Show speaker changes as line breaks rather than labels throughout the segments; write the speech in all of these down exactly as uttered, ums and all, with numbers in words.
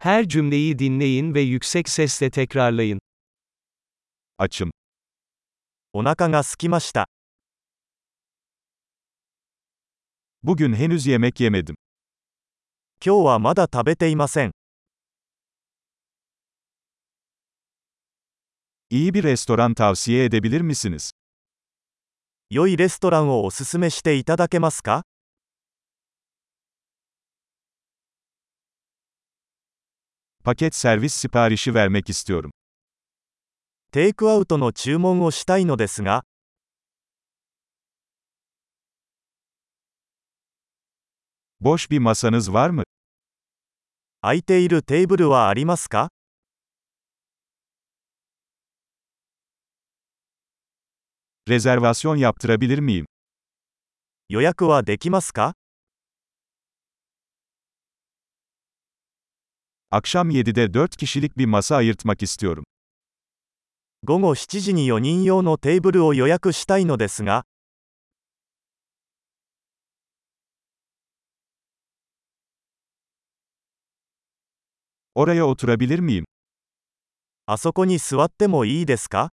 Her cümleyi dinleyin ve yüksek sesle tekrarlayın.
Açım.
お腹が空きました。
Bugün henüz yemek yemedim.
今日はまだ食べていません。
İyi bir restoran tavsiye edebilir misiniz?
良いレストランをおすすめしていただけますか？
Paket servis siparişi vermek istiyorum.
テイクアウトの注文をしたいのですが、
Boş bir masanız var mı?
空いているテーブルはありますか？
Rezervasyon yaptırabilir miyim?
予約はできますか？
Akşam yedide dört kişilik bir masa ayırtmak istiyorum.
午後しちじによにん用のテーブルを予約したいのですが、
Oraya oturabilir miyim?
あそこに座ってもいいですか？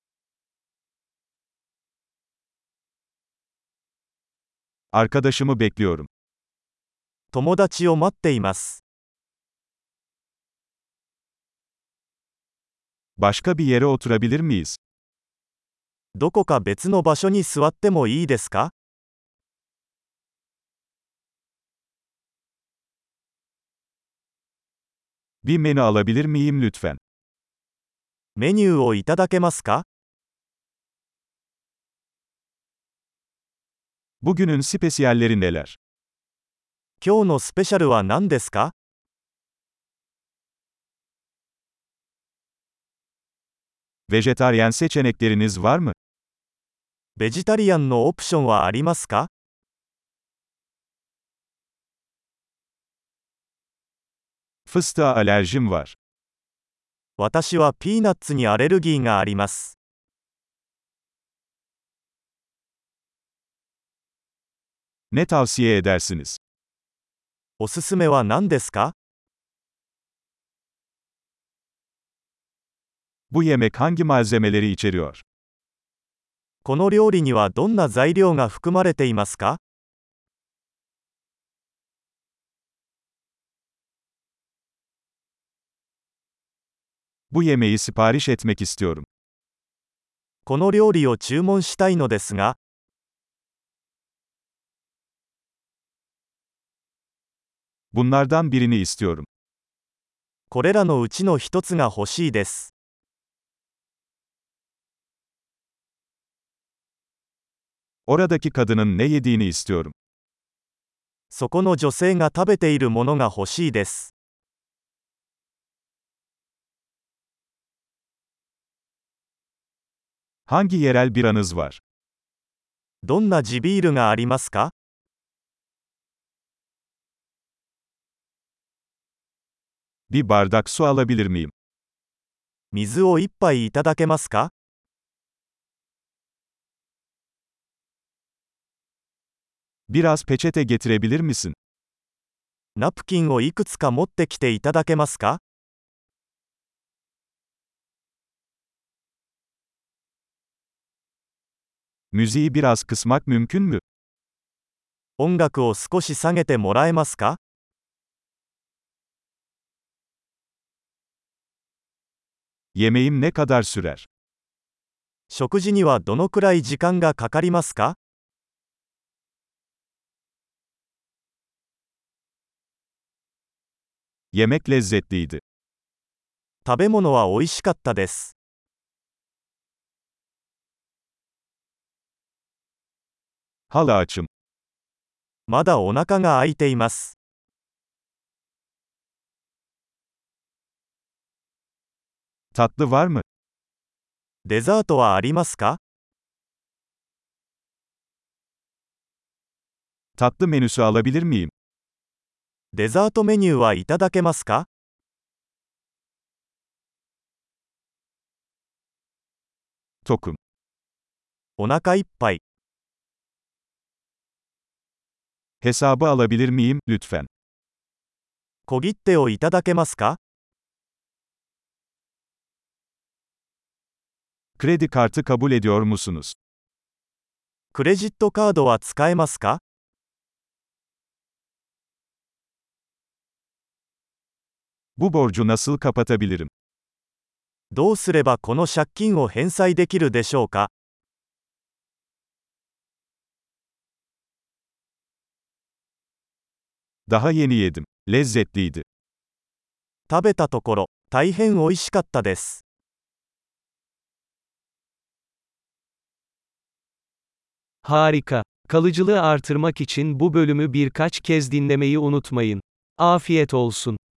Arkadaşımı bekliyorum.
友達を待っています。
Başka bir yere oturabilir miyiz?
どこか別の場所に座ってもいいですか？
Bir menü alabilir miyim lütfen?
メニューをいただけますか？
Bugünün spesiyalleri neler?
今日のスペシャルは何ですか？
Vejetaryen seçenekleriniz var mı?
ベジタリアンのオプションはありますか？
Fıstığa alerjim var.
私はピーナッツにアレルギーがあります。
Ne tavsiye edersiniz?
おすすめは何ですか？
Bu yemek hangi malzemeleri içeriyor?
この料理にはどんな材料が含まれていますか？
Bu yemeği sipariş etmek istiyorum.
この料理を注文したいのですが、
Bunlardan birini istiyorum.
これらのうちの一つが欲しいです。
Oradaki kadının ne yediğini istiyorum.
そこの女性が食べているものが欲しいです。
Hangi yerel biranız var?
どんな地ビールがありますか？
Bir bardak su alabilir miyim?
水を一杯いただけますか？
Biraz peçete getirebilir misin?
ナプキンをいくつか持ってきていただけますか？
Müziği biraz kısmak mümkün mü?
音楽を少し下げてもらえますか？
Yemeğim ne kadar sürer?
食事にはどのくらい時間がかかりますか？
Yemek lezzetliydi.
食べ物は美味しかったです。
Hala açım.
まだお腹が空いています。
Tatlı var mı?
デザートはありますか？
Tatlı menüsü alabilir miyim?
デザートメニューはいただけますか？
Tokum.
お腹いっぱい。
Hesabı alabilir miyim, lütfen?
小切手をいただけますか？
Kredi kartı kabul ediyor musunuz?
クレジットカードは使えますか？
Bu borcu nasıl kapatabilirim?
どうすればこの借金を返済できるでしょうか？
Daha yeni yedim. Lezzetliydi.
食べたところ、大変美味しかったです。
Harika. Kalıcılığı artırmak için bu bölümü birkaç kez dinlemeyi unutmayın. Afiyet olsun.